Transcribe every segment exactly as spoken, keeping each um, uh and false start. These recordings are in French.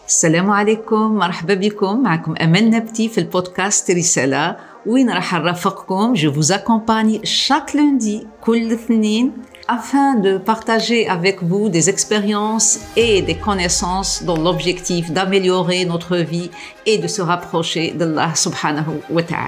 السلام عليكم، مرحبا بكم. معكم أمل نبتي في البودكاست رسالة وين راح نرافقكم. Je vous accompagne chaque lundi كل اثنين afin de partager avec vous des expériences et des connaissances dans l'objectif d'améliorer notre vie et de se rapprocher d'Allah subhanahu wa ta'ala.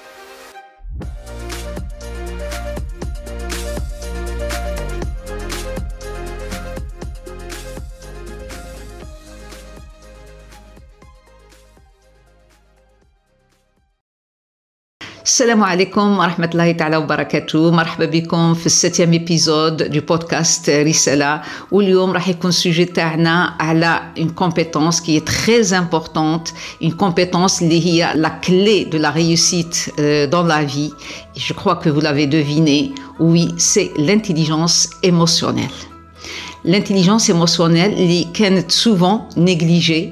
السلام عليكم ورحمة الله تعالى وبركاته. مرحبا بكم في السبتيام épisode du podcast رسالة. واليوم راح يكون sujet تاعنا على une compétence qui est très importante, une compétence اللي هي la clé de la réussite euh, dans la vie. Et je crois que vous l'avez deviné, oui, c'est l'intelligence émotionnelle. L'intelligence émotionnelle اللي كانت souvent négligée,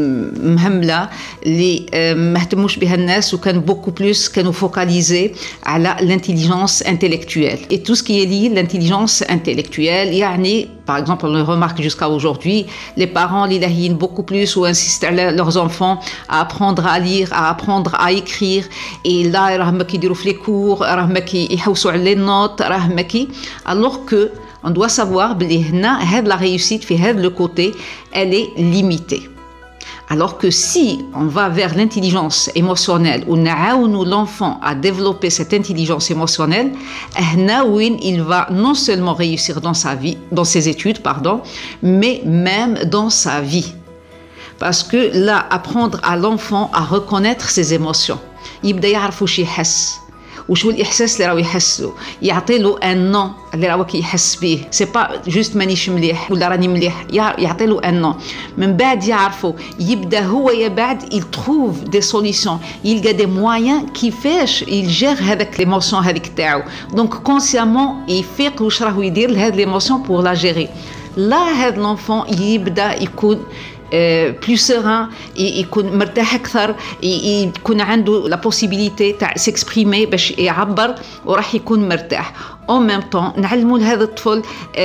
مهملة اللي ما اهتموش بها الناس وكان beaucoup plus كانوا focalisés على l'intelligence intellectuelle. Et tout ce qui est lié l'intelligence intellectuelle, يعني par exemple on le remarque jusqu'à aujourd'hui, les parents اللي لاهيين beaucoup plus ou insistent على leurs enfants à apprendre à lire, à apprendre à écrire. Et là راهم كيديروا في les cours, راهم كيحوسوا على les notes, راهم كي alors que on doit savoir بلي هنا هاد la réussite في هاد le côté elle est limitée. Alors que si on va vers l'intelligence émotionnelle ou نعاونوا l'enfant à développer cette intelligence émotionnelle, هنا وين il va non seulement réussir dans sa vie, dans ses études, pardon, mais même dans sa vie. Parce que là, apprendre à l'enfant à reconnaître ses émotions. يبدأ يعرف وش يحس. وشو الإحساس اللي راهو يحسه، يعطي له ان نون اللي راهو كيحس به، سي با جوست مانيش مليح ولا راني مليح، يعطي له ان نون. من بعد يعرفوا يبدا هو يا بعد il trouve des solutions، يلقى des moyens كيفاش يجير هذاك ليموسيون هذيك تاعو. دونك كونسيامون يفيق واش راهو يدير لهاد ليموسيون بور لا جيري. لا هاد لونفون يبدا يكون plus serein, يكون مرتاح أكثر، يكون عنده la possibilité تاع s'exprimer باش يعبر وراح يكون مرتاح. En même temps نعلموا لهذا الطفل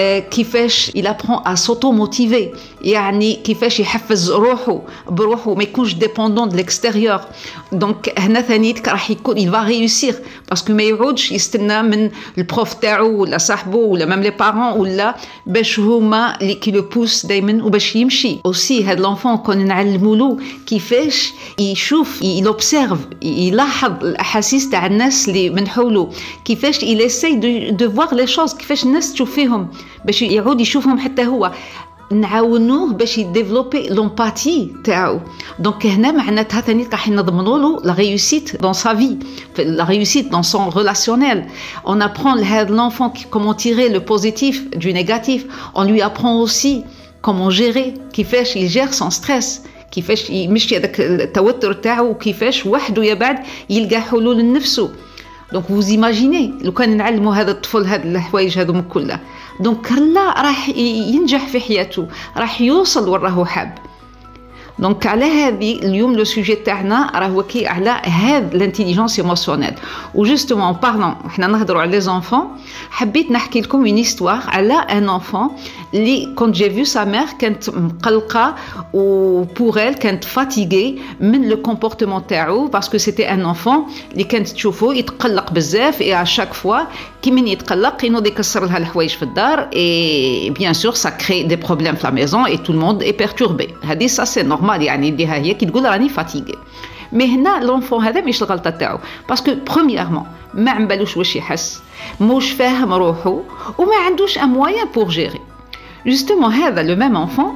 كيفاش il apprend à s'auto-motiver، يعني كيفاش يحفز روحه بروحه ما يكونش dépendant de l'extérieur. donc هنا ثانيتك راح يكون il va réussir parce que ما يعودش يستنى من البروف تاعو ولا صاحبه ولا même les parents ولا باش هما اللي كي le pousse دايما وباش يمشي. aussi هذا l'enfant كون نعلموا له كيفاش يشوف il observe يلاحظ الأحاسيس تاع الناس اللي من حوله، كيفاش il essaye de de voir les choses، كيفاش الناس تشوف فيهم باش يعود يشوفهم حتى هو. نعاونوه باش يديفلوبي لومباتي تاعو. دونك هنا معناتها ثاني راح نضمنوا له لا ريوسيت دون سا في، لا ريوسيت دون سون ريلاسيونيل. on apprend لهذا l'enfant comment tirer le positif du négatif. on lui apprend aussi comment gérer، كيفاش يجير son stress، كيفاش يمشي هذاك التوتر تاعو وكيفاش وحده يا بعد يلقى حلول لنفسه. دونك vous imaginez لو كان نعلموا هذا الطفل هذه الحوايج هذوم كلها، دونك لا راح ينجح في حياته، راح يوصل وين راهو حاب. دونك على هذه اليوم لو سوجي تاعنا راهو كي على هذا الانتيليجنس ايموسيونيل. وجوستومون بارلون حنا نهضروا على لي زونفون، حبيت نحكي لكم اون هيستوار على ان انفون اللي كنت جي فيو سا مير كانت مقلقه و بور ال كانت فاتيغي من لو كومبورتمون تاعو باسكو سيتي ان انفون اللي كانت تشوفو يتقلق بزاف. اي ا شاك فوا كي من يتقلق ينوض يكسر لها الحوايج في الدار. اي بيان سور سا كري دي بروبليم في لا ميزون اي تو الموند اي بيرتوربي. هذه سا سي نورمال، يعني يديها هي كي تقول راني فاتيغي. مي هنا لونفون هذا مش الغلطه تاعو باسكو برومييرمون ما عمبالوش واش يحس، موش فاهم روحه وما عندوش ان موين بور جيري. جوستومون هذا لو ميم انفون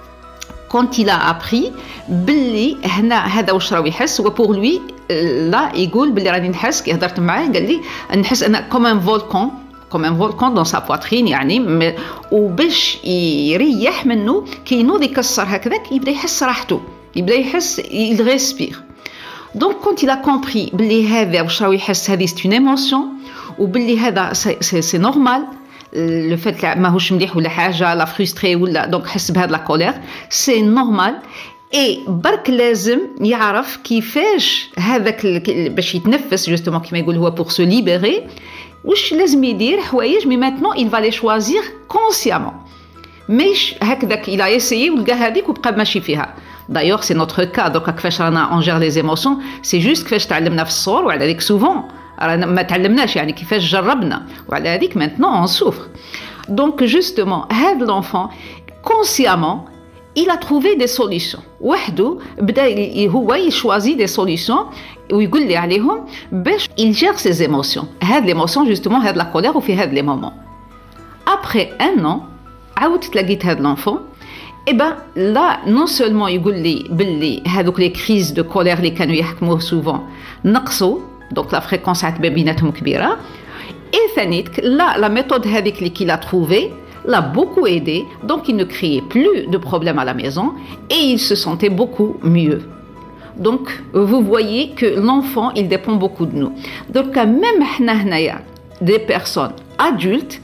quand il a appris باللي هنا هذا واش راهو يحس وبور لوي لا يقول باللي راني نحس. كي هضرت معاه قال لي نحس انا كوم ان فولكان كوم ان فولكان دون سا بواترين، يعني وباش يريح منه كي ينوض يكسر هكذاك يبدا يحس راحته، يبدا يحس il respire. donc quand il a compris باللي هذا واش راهو يحس هذه c'est une émotion وباللي هذا c'est normal le fait ماهوش مليح ولا حاجه لا فرستري ولا دونك حس بهذا لا كولير سي نورمال. اي برك لازم يعرف كيفاش هذاك باش يتنفس جوستومون كيما يقول هو بور سو ليبري واش لازم يدير حوايج مي ماتنون il va les choisir consciemment. مش هكذاك الى يسيي ولقى هذيك وبقى ماشي فيها. D'ailleurs, c'est notre cas. Donc, كيفاش رانا on gère les émotions, c'est juste كيفاش تعلمنا في الصغر وعلى هذيك souvent رانا ما تعلمناش يعني كيفاش جربنا وعلى هذيك maintenant on souffre. Donc, justement, هذا l'enfant consciemment il a trouvé des solutions. وحده بدا هو يشوازي des solutions ويقول لي عليهم باش il gère ses émotions. هاد l'émotion justement هاد la colère وفي هاد les moments. Après un an عاود تلاقيت هاد l'enfant et ben là non seulement يقول لي باللي هذوك les crises de colère اللي كانوا يحكموه souvent نقصوا donc la fréquence عاد بيناتهم كبيرة et ثانيتك là la méthode هذيك اللي qu'il a trouvé l'a beaucoup aidé, donc il ne créait plus de problèmes à la maison et il se sentait beaucoup mieux. Donc, vous voyez que l'enfant, il dépend beaucoup de nous. Donc, même des personnes adultes,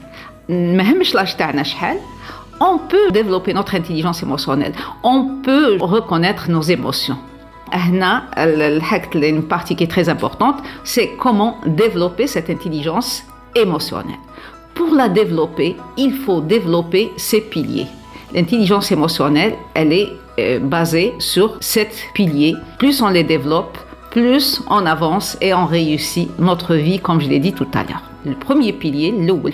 on peut développer notre intelligence émotionnelle, on peut reconnaître nos émotions. Une partie qui est très importante, c'est comment développer cette intelligence émotionnelle. Pour la développer, il faut développer ces piliers. L'intelligence émotionnelle, elle est euh, basée sur sept piliers. Plus on les développe, plus on avance et on réussit notre vie, comme je l'ai dit tout à l'heure. Le premier pilier,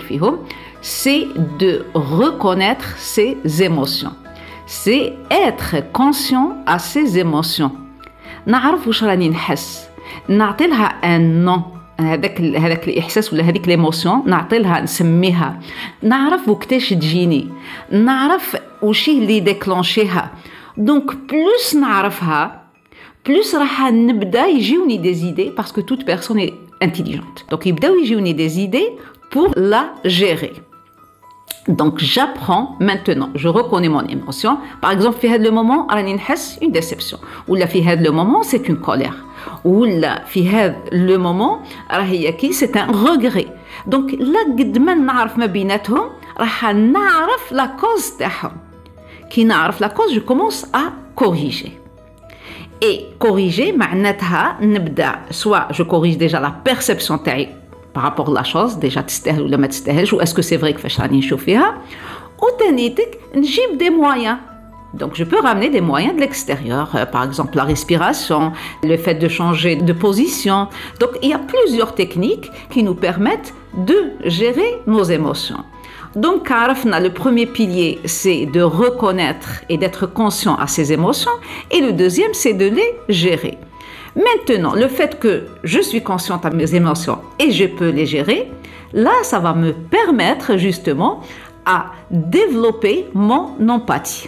c'est de reconnaître ses émotions. C'est être conscient à ses émotions. نعرف واش راني نحس، نعطي لها un nom. هذاك هذاك الاحساس ولا هذيك ليموسيون نعطي لها نسميها، نعرف وقتاش تجيني، نعرف وش اللي ديكلونشيها. دونك بلوس نعرفها بلوس راح نبدا يجيوني دي زيدي باسكو توت بيرسون اي انتيليجنت. دونك يبداو يجيوني دي زيدي pour la gérer. Donc j'apprends maintenant, je reconnais mon émotion. Par exemple, في هذا le moment راني نحس une déception ولا في هذا le moment c'est une colère. ولا في هذا le moment راهي كي c'est un regret. Donc لا قد ما نعرف ما بيناتهم راح نعرف la cause تاعهم. كي نعرف la cause je commence à corriger. Et corriger معناتها نبدا soit je corrige déjà la perception تاعي par rapport à la chose déjà تستاهل ولا ما تستاهلش ou est-ce que c'est vrai كيفاش راني نشوف فيها وتانيتك نجيب des moyens. Donc, je peux ramener des moyens de l'extérieur, euh, par exemple la respiration, le fait de changer de position. Donc, il y a plusieurs techniques qui nous permettent de gérer nos émotions. Donc, le premier pilier, c'est de reconnaître et d'être conscient à ses émotions. Et le deuxième, c'est de les gérer. Maintenant, le fait que je suis consciente à mes émotions et je peux les gérer, là, ça va me permettre justement à développer mon empathie.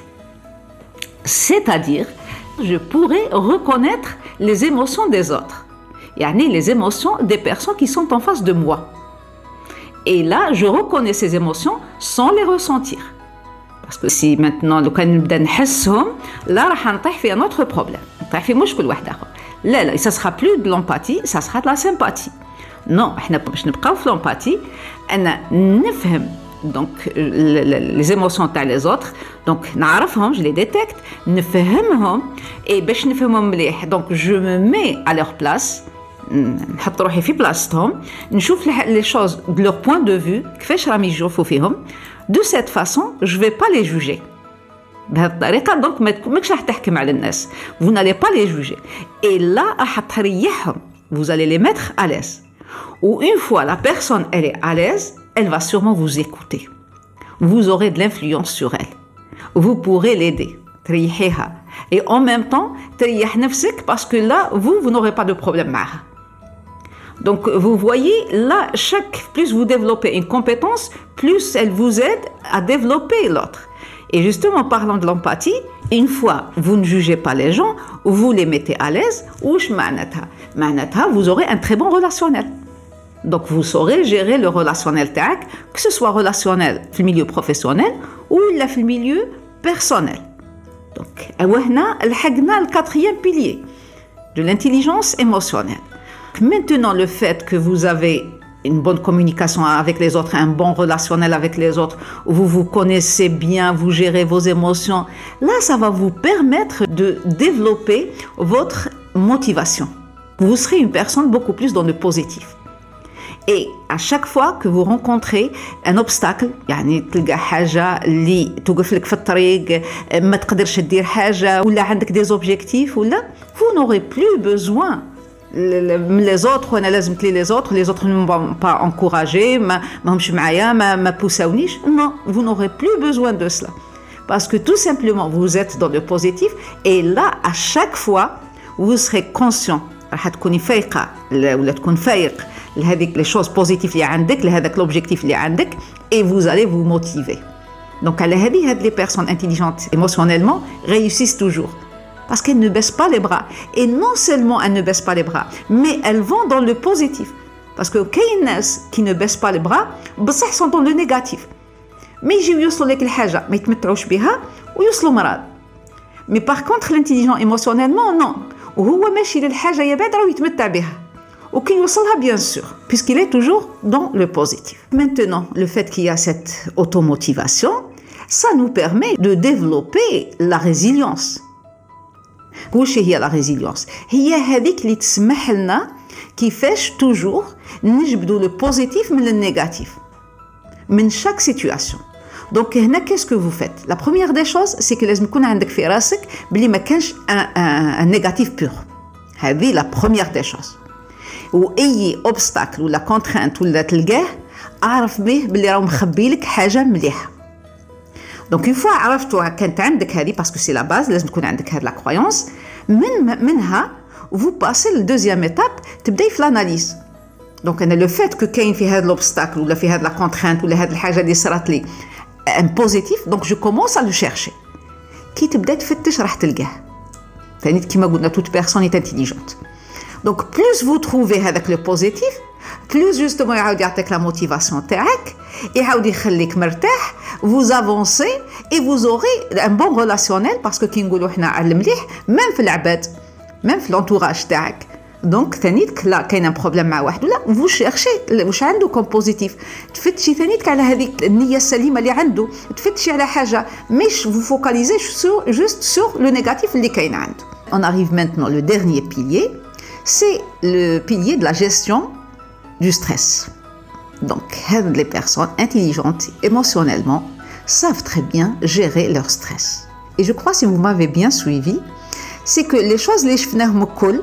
C'est-à-dire, je pourrais reconnaître les émotions des autres. Yani les émotions des personnes qui sont en face de moi. Et là, je reconnais ces émotions sans les ressentir. Parce que si maintenant, le cas نبدا نحسهم, là, راح نطيح في un autre problème. نطيح في مشكل واحد آخر. لا لا, ça sera plus de l'empathie, ça sera de la sympathie. Non, احنا باش نبقاو في l'empathie, أنا نفهم donc les émotions تاع les autres. Donc نعرفهم, je les détecte, نفهمهم et باش نفهمهم مليح. Donc je me mets à leur place, نحط روحي في بلاصتهم, نشوف les choses de leur point de vue, كيفاش راهم يشوفوا فيهم. De cette façon, je vais pas les juger. بهذه الطريقة donc ماكش راح تحكم على الناس. Vous n'allez pas les juger. Et là راح تريحهم. Vous allez les mettre à l'aise. Ou une fois la personne elle est à l'aise, elle va sûrement vous écouter. Vous aurez de l'influence sur elle. Vous pourrez l'aider. تريحيها. Et en même temps, تريح نفسك parce que là, vous, vous n'aurez pas de problème معها. Donc, vous voyez, là, chaque, plus vous développez une compétence, plus elle vous aide à développer l'autre. Et justement, parlant de l'empathie, une fois, vous ne jugez pas les gens, vous les mettez à l'aise, وش معناتها؟ معناتها, vous aurez un très bon relationnel. Donc, vous saurez gérer le relationnel تاعك, que ce soit relationnel في المilieu professionnel ou là في milieu personnel. Donc, هنا لحقنا le quatrième pilier de l'intelligence émotionnelle. Maintenant, le fait que vous avez une bonne communication avec les autres, un bon relationnel avec les autres, vous vous connaissez bien, vous gérez vos émotions, là, ça va vous permettre de développer votre motivation. Vous serez une personne beaucoup plus dans le positif. Et à chaque fois que vous rencontrez un obstacle, يعني تلقى حاجة اللي توقف لك في الطريق ما تقدرش تدير حاجة ولا عندك des objectifs ولا vous n'aurez plus besoin les autres وانا لازم تلي les autres les autres ne m'ont pas encouragé ما همش معايا ما ما بوساونيش non vous n'aurez plus besoin de cela parce que tout simplement vous êtes dans le positif et là à chaque fois vous serez conscient راح تكوني فايقة ولا تكون فايق لهذيك les choses positives اللي عندك لهذاك l'objectif اللي عندك et vous allez vous motiver donc على هذه هاد les personnes intelligentes émotionnellement réussissent toujours parce qu'elles ne baissent pas les bras et non seulement elles ne baissent pas les bras mais elles vont dans le positif parce que كاين ناس qui ne baissent pas les bras بصح sont dans le négatif ما يجيو يوصلوا لك الحاجة ما يتمتعوش بها ويوصلوا مرض mais par contre l'intelligent émotionnellement non وهو ماشي للحاجة يبعد راه يتمتع بها وكي يوصلها bien sûr puisqu'il est toujours dans le positif. Maintenant, le fait qu'il y a cette automotivation, ça nous permet de développer la résilience. واش هي la résilience؟ هي هذيك اللي تسمح لنا كيفاش toujours نجبدوا le positif من le négatif من chaque situation. Donc هنا qu'est-ce que vous faites? La première des choses c'est que لازم يكون عندك في راسك بلي ما كانش un, un, un négatif pur. هذه la première des choses. واي obstacle ولا contrainte ولا تلقاه اعرف به بلي راه مخبي لك حاجه مليحه. دونك اون فوا عرفتوا كانت عندك هذه باسكو سي لا باز لازم تكون عندك هذه لا كرويونس من منها vous passez le deuxième étape تبداي في l'analyse. دونك انا لو فات كو كاين في هذا l'obstacle ولا في هذا لا contrainte ولا هذه الحاجه اللي صارت لي ان بوزيتيف دونك جو كومونس ا لو شيرشي. كي تبدا تفتش راح تلقاه. ثاني كيما قلنا toute personne est intelligente. Donc plus vous trouvez avec le positif, plus justement يعاود يعطيك la motivation تاعك, يعاود يخليك مرتاح, vous avancez et vous aurez un bon relationnel parce que كي نقولوا احنا على المليح même في العباد, même في l'entourage تاعك. دونك ثانيتك لا كاين ان بروبليم مع واحد ولا vous cherchez واش عنده كوم بوزيتيف, تفتشي ثانيتك على هذيك النية السليمة اللي عنده, تفتشي على حاجة مش vous focalisez sur, juste sur le négatif اللي كاين عنده. On arrive maintenant le dernier pilier. C'est le pilier de la gestion du stress. Donc, les personnes intelligentes émotionnellement savent très bien gérer leur stress. Et je crois, si vous m'avez bien suivi, c'est que les choses, les chefnahum kol,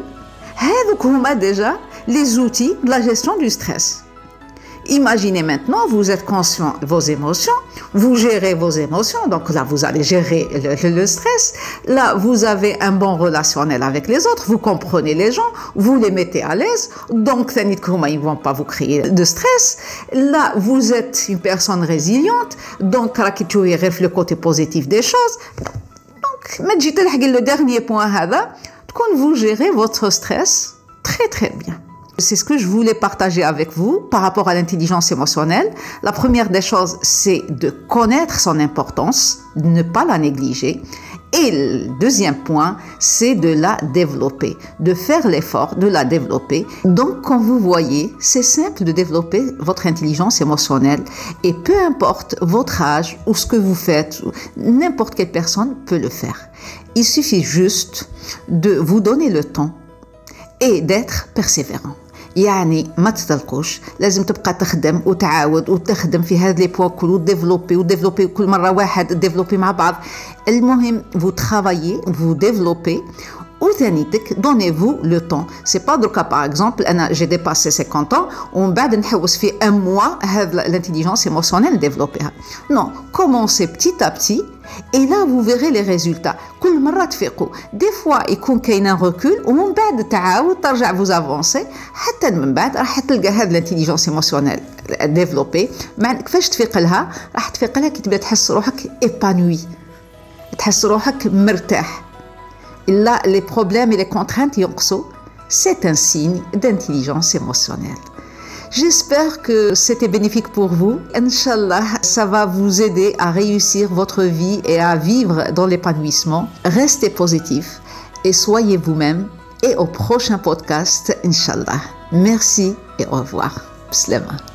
déjà les outils de la gestion du stress. Imaginez maintenant, vous êtes conscient de vos émotions, vous gérez vos émotions, donc là vous allez gérer le, le stress, là vous avez un bon relationnel avec les autres, vous comprenez les gens, vous les mettez à l'aise, donc ils ne vont pas vous créer de stress, là vous êtes une personne résiliente, donc le côté positif des choses. Donc, le dernier point, quand vous gérez votre stress très très bien. C'est ce que je voulais partager avec vous par rapport à l'intelligence émotionnelle. La première des choses, c'est de connaître son importance, de ne pas la négliger. Et le deuxième point, c'est de la développer, de faire l'effort de la développer. Donc, comme vous voyez, c'est simple de développer votre intelligence émotionnelle. Et peu importe votre âge ou ce que vous faites, n'importe quelle personne peut le faire. Il suffit juste de vous donner le temps et d'être persévérant. يعني ما تطلقوش, لازم تبقى تخدم وتعاود وتخدم في هذا لي بوان كل وديفلوبي وديفلوبي كل مره واحد ديفلوبي مع بعض. المهم vous travaillez, vous développez وثانيتك donnez-vous le temps. C'est pas دركا par exemple انا j'ai dépassé cinquante ans ومن بعد نحوس في un mois هذا l'intelligence émotionnelle développer. Non, commencez petit à petit et là vous verrez les résultats. كل مرة تفيقوا. Des fois يكون كاين un recul ومن بعد تعاود ترجع vous avancer حتى من بعد راح تلقى هذا l'intelligence émotionnelle développer. مع كيفاش تفيق لها؟ راح تفيق لها كي تبدا تحس روحك épanoui, تحس روحك مرتاح. Là, les problèmes et les contraintes ينقصوا. C'est un signe d'intelligence émotionnelle. J'espère que c'était bénéfique pour vous. Inch'Allah, ça va vous aider à réussir votre vie et à vivre dans l'épanouissement. Restez positif et soyez vous-même. Et au prochain podcast, Inch'Allah. Merci et au revoir. Bislama.